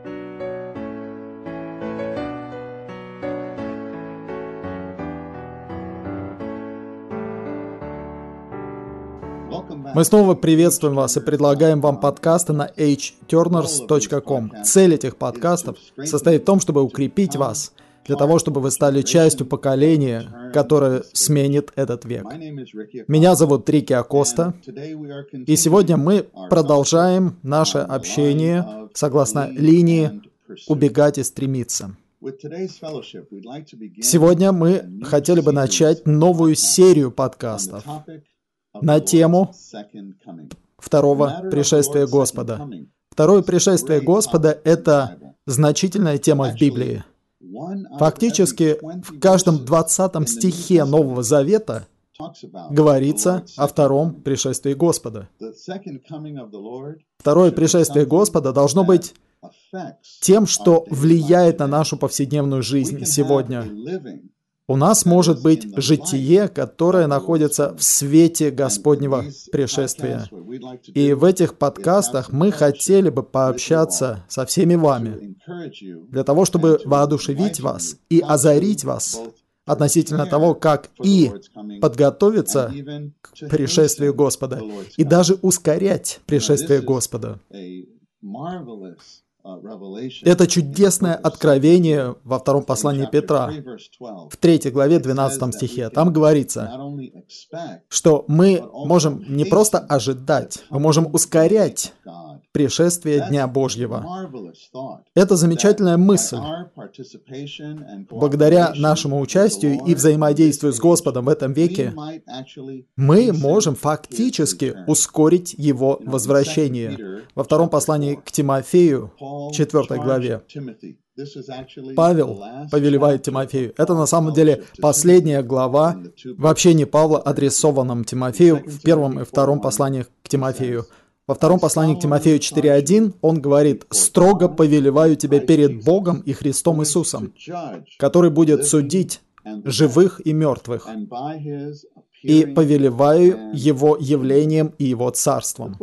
Мы снова приветствуем вас и предлагаем вам подкасты на hturners.com. Цель этих подкастов состоит в том, чтобы укрепить вас, для того, чтобы вы стали частью поколения, которое сменит этот век. Меня зовут Рики Акоста, и сегодня мы продолжаем наше общение согласно линии «Убегать и стремиться». Сегодня мы хотели бы начать новую серию подкастов на тему второго пришествия Господа. Второе пришествие Господа – это значительная тема в Библии. Фактически, в каждом 20 стихе Нового Завета говорится о втором пришествии Господа. Второе пришествие Господа должно быть тем, что влияет на нашу повседневную жизнь сегодня. У нас может быть житие, которое находится в свете Господнего пришествия. И в этих подкастах мы хотели бы пообщаться со всеми вами, для того, чтобы воодушевить вас и озарить вас относительно того, как и подготовиться к пришествию Господа, и даже ускорять пришествие Господа. Это чудесное откровение во втором послании Петра, в 3 главе 12 стихе. Там говорится, что мы можем не просто ожидать, мы можем ускорять пришествие Дня Божьего. Это замечательная мысль. Благодаря нашему участию и взаимодействию с Господом в этом веке, мы можем фактически ускорить Его возвращение. Во втором послании к Тимофею, 4 главе, Павел повелевает Тимофею. Это на самом деле последняя глава в общении Павла, адресованном Тимофею в первом и втором посланиях к Тимофею. Во втором послании к Тимофею 4.1 он говорит: «Строго повелеваю тебя перед Богом и Христом Иисусом, который будет судить живых и мертвых, и повелеваю Его явлением и Его царством».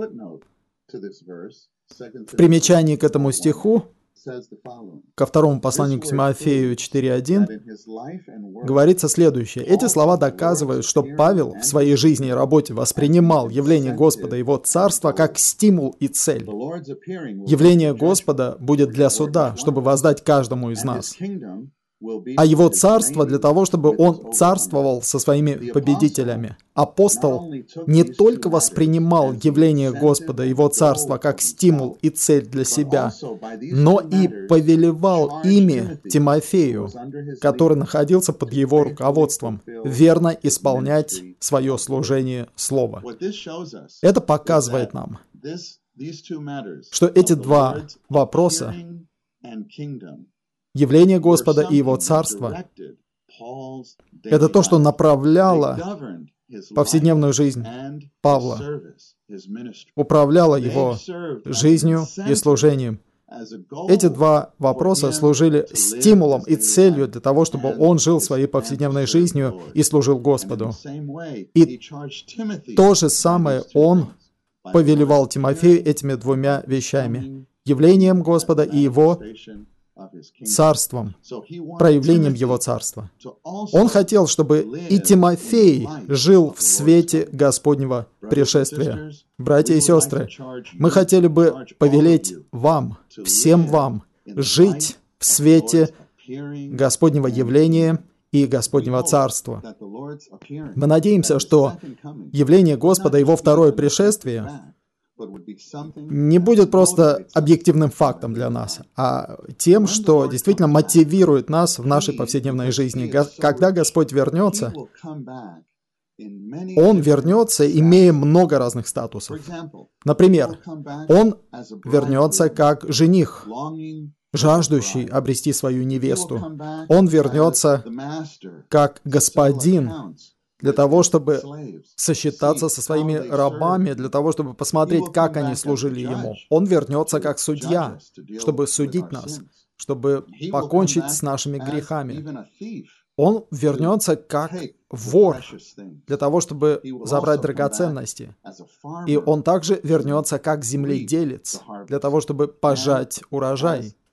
В примечании к этому стиху, ко второму посланию к Тимофею 4.1, говорится следующее. Эти слова доказывают, что Павел в своей жизни и работе воспринимал явление Господа и Его Царства как стимул и цель. Явление Господа будет для суда, чтобы воздать каждому из нас. А Его Царство для того, чтобы Он царствовал со своими победителями. Апостол не только воспринимал явление Господа и Его Царства как стимул и цель для себя, но и повелевал ими Тимофею, который находился под его руководством, верно исполнять свое служение Слова. Это показывает нам, что эти два вопроса, явление Господа и Его Царства, это то, что направляло повседневную жизнь Павла, управляло его жизнью и служением. Эти два вопроса служили стимулом и целью для того, чтобы он жил своей повседневной жизнью и служил Господу. И то же самое он повелевал Тимофею этими двумя вещами: явлением Господа и Его Царством, проявлением Его Царства. Он хотел, чтобы и Тимофей жил в свете Господнего пришествия. Братья и сестры, мы хотели бы повелеть вам, всем вам, жить в свете Господнего явления и Господнего Царства. Мы надеемся, что явление Господа и Его второе пришествие не будет просто объективным фактом для нас, а тем, что действительно мотивирует нас в нашей повседневной жизни. Когда Господь вернется, Он вернется, имея много разных статусов. Например, Он вернется как жених, жаждущий обрести свою невесту. Он вернется как господин, для того, чтобы сосчитаться со своими рабами, для того, чтобы посмотреть, как они служили Ему. Он вернется как судья, чтобы судить нас, чтобы покончить с нашими грехами. Он вернется как вор, для того, чтобы забрать драгоценности. И он также вернется как земледелец, для того, чтобы пожать урожай.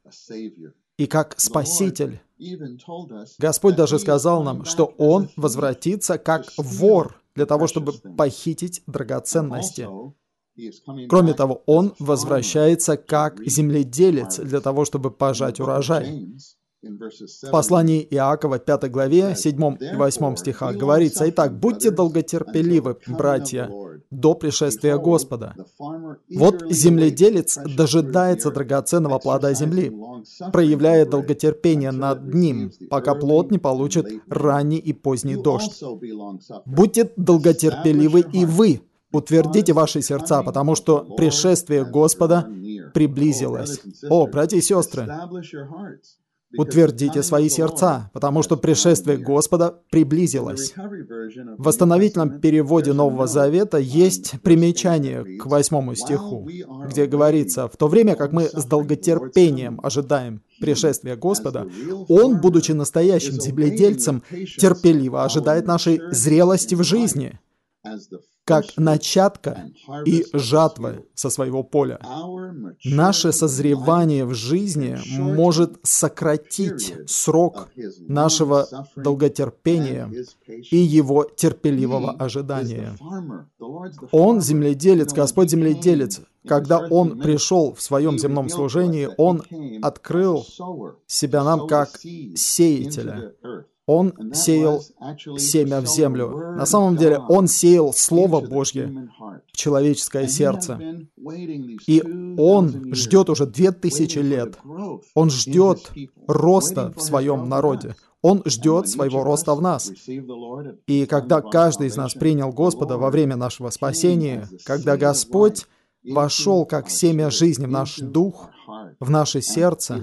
и как Спаситель. Господь даже сказал нам, что Он возвратится как вор для того, чтобы похитить драгоценности. Кроме того, Он возвращается как земледелец для того, чтобы пожать урожай. В послании Иакова, 5 главе, 7 и 8 стихах говорится: «Итак, будьте долготерпеливы, братья, до пришествия Господа. Вот земледелец дожидается драгоценного плода земли, проявляя долготерпение над ним, пока плод не получит ранний и поздний дождь. Будьте долготерпеливы и вы, утвердите ваши сердца, потому что пришествие Господа приблизилось». О, братья и сестры, утвердите свои сердца, потому что пришествие Господа приблизилось. В восстановительном переводе Нового Завета есть примечание к 8 стиху, где говорится: «В то время как мы с долготерпением ожидаем пришествия Господа, Он, будучи настоящим земледельцем, терпеливо ожидает нашей зрелости в жизни, как начатка и жатвы со своего поля». Наше созревание в жизни может сократить срок нашего долготерпения и его терпеливого ожидания. Он земледелец, Господь земледелец. Когда Он пришел в своем земном служении, Он открыл себя нам как сеятеля. Он сеял семя в землю. На самом деле, Он сеял Слово Божье в человеческое сердце. И Он ждет уже 2000 лет. Он ждет роста в своем народе. Он ждет своего роста в нас. И когда каждый из нас принял Господа во время нашего спасения, когда Господь вошел как семя жизни в наш дух, в наше сердце,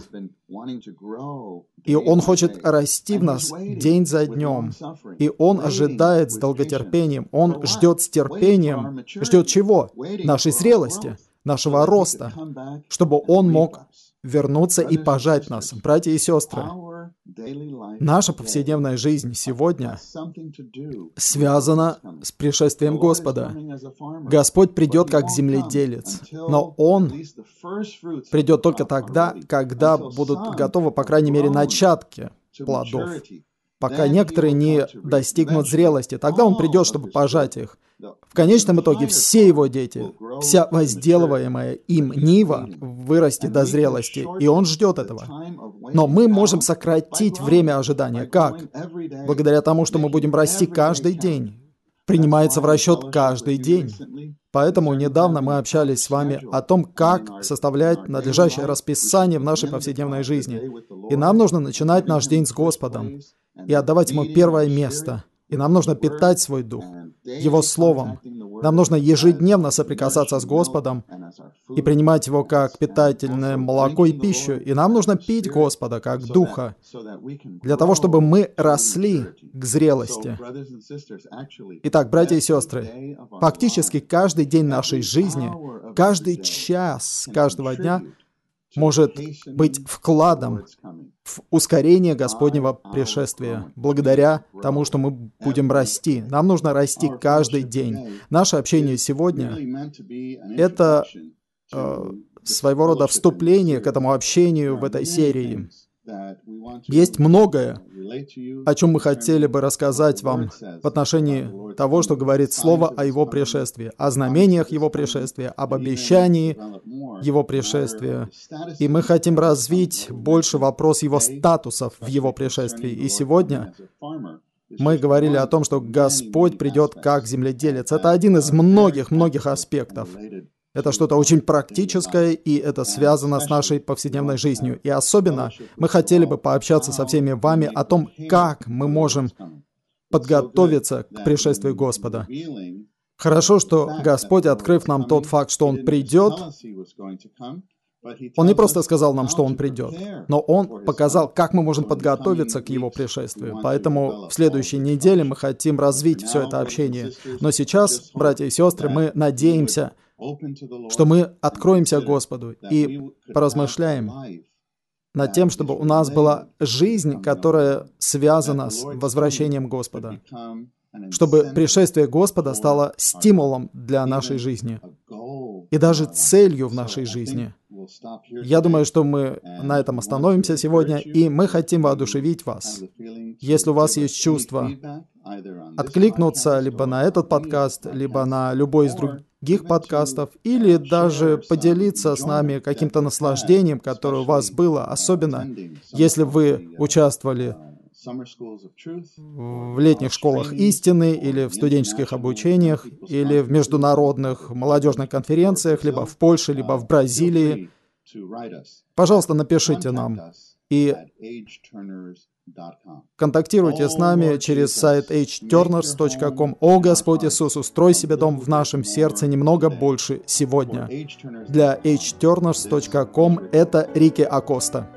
и Он хочет расти в нас день за днем, и Он ожидает с долготерпением, Он ждет с терпением, ждет чего? Нашей зрелости, нашего роста, чтобы Он мог вернуться и пожать нас. Братья и сестры, наша повседневная жизнь сегодня связана с пришествием Господа. Господь придет как земледелец, но Он придет только тогда, когда будут готовы, по крайней мере, начатки плодов. Пока некоторые не достигнут зрелости, тогда Он придет, чтобы пожать их. В конечном итоге все Его дети, вся возделываемая им нива вырастет до зрелости, и Он ждет этого. Но мы можем сократить время ожидания. Как? Благодаря тому, что мы будем расти каждый день. Принимается в расчет каждый день. Поэтому недавно мы общались с вами о том, как составлять надлежащее расписание в нашей повседневной жизни. И нам нужно начинать наш день с Господом и отдавать Ему первое место. И нам нужно питать свой дух Его Словом. Нам нужно ежедневно соприкасаться с Господом и принимать Его как питательное молоко и пищу. И нам нужно пить Господа как Духа, для того, чтобы мы росли к зрелости. Итак, братья и сестры, фактически каждый день нашей жизни, каждый час каждого дня может быть вкладом в ускорение Господнего пришествия, благодаря тому, что мы будем расти. Нам нужно расти каждый день. Наше общение сегодня — это своего рода вступление к этому общению в этой серии. Есть многое, о чем мы хотели бы рассказать вам в отношении того, что говорит Слово о Его пришествии, о знамениях Его пришествия, об обещании Его пришествия. И мы хотим развить больше вопрос Его статусов в Его пришествии. И сегодня мы говорили о том, что Господь придет как земледелец. Это один из многих аспектов. Это что-то очень практическое, и это связано с нашей повседневной жизнью. И особенно мы хотели бы пообщаться со всеми вами о том, как мы можем подготовиться к пришествию Господа. Хорошо, что Господь, открыв нам тот факт, что Он придет, Он не просто сказал нам, что Он придет, но Он показал, как мы можем подготовиться к Его пришествию. Поэтому в следующей неделе мы хотим развить все это общение. Но сейчас, братья и сестры, мы надеемся, что мы откроемся Господу и поразмышляем над тем, чтобы у нас была жизнь, которая связана с возвращением Господа, чтобы пришествие Господа стало стимулом для нашей жизни. и даже целью в нашей жизни. Я думаю, что мы на этом остановимся сегодня, и мы хотим воодушевить вас. Если у вас есть чувство откликнуться либо на этот подкаст, либо на любой из других подкастов, или даже поделиться с нами каким-то наслаждением, которое у вас было, особенно если вы участвовали в летних школах истины, или в студенческих обучениях, или в международных молодежных конференциях, либо в Польше, либо в Бразилии. Пожалуйста, напишите нам и контактируйте с нами через сайт hturners.com. О, Господь Иисус, устрой себе дом в нашем сердце немного больше сегодня. Для hturners.com это Рики Акоста.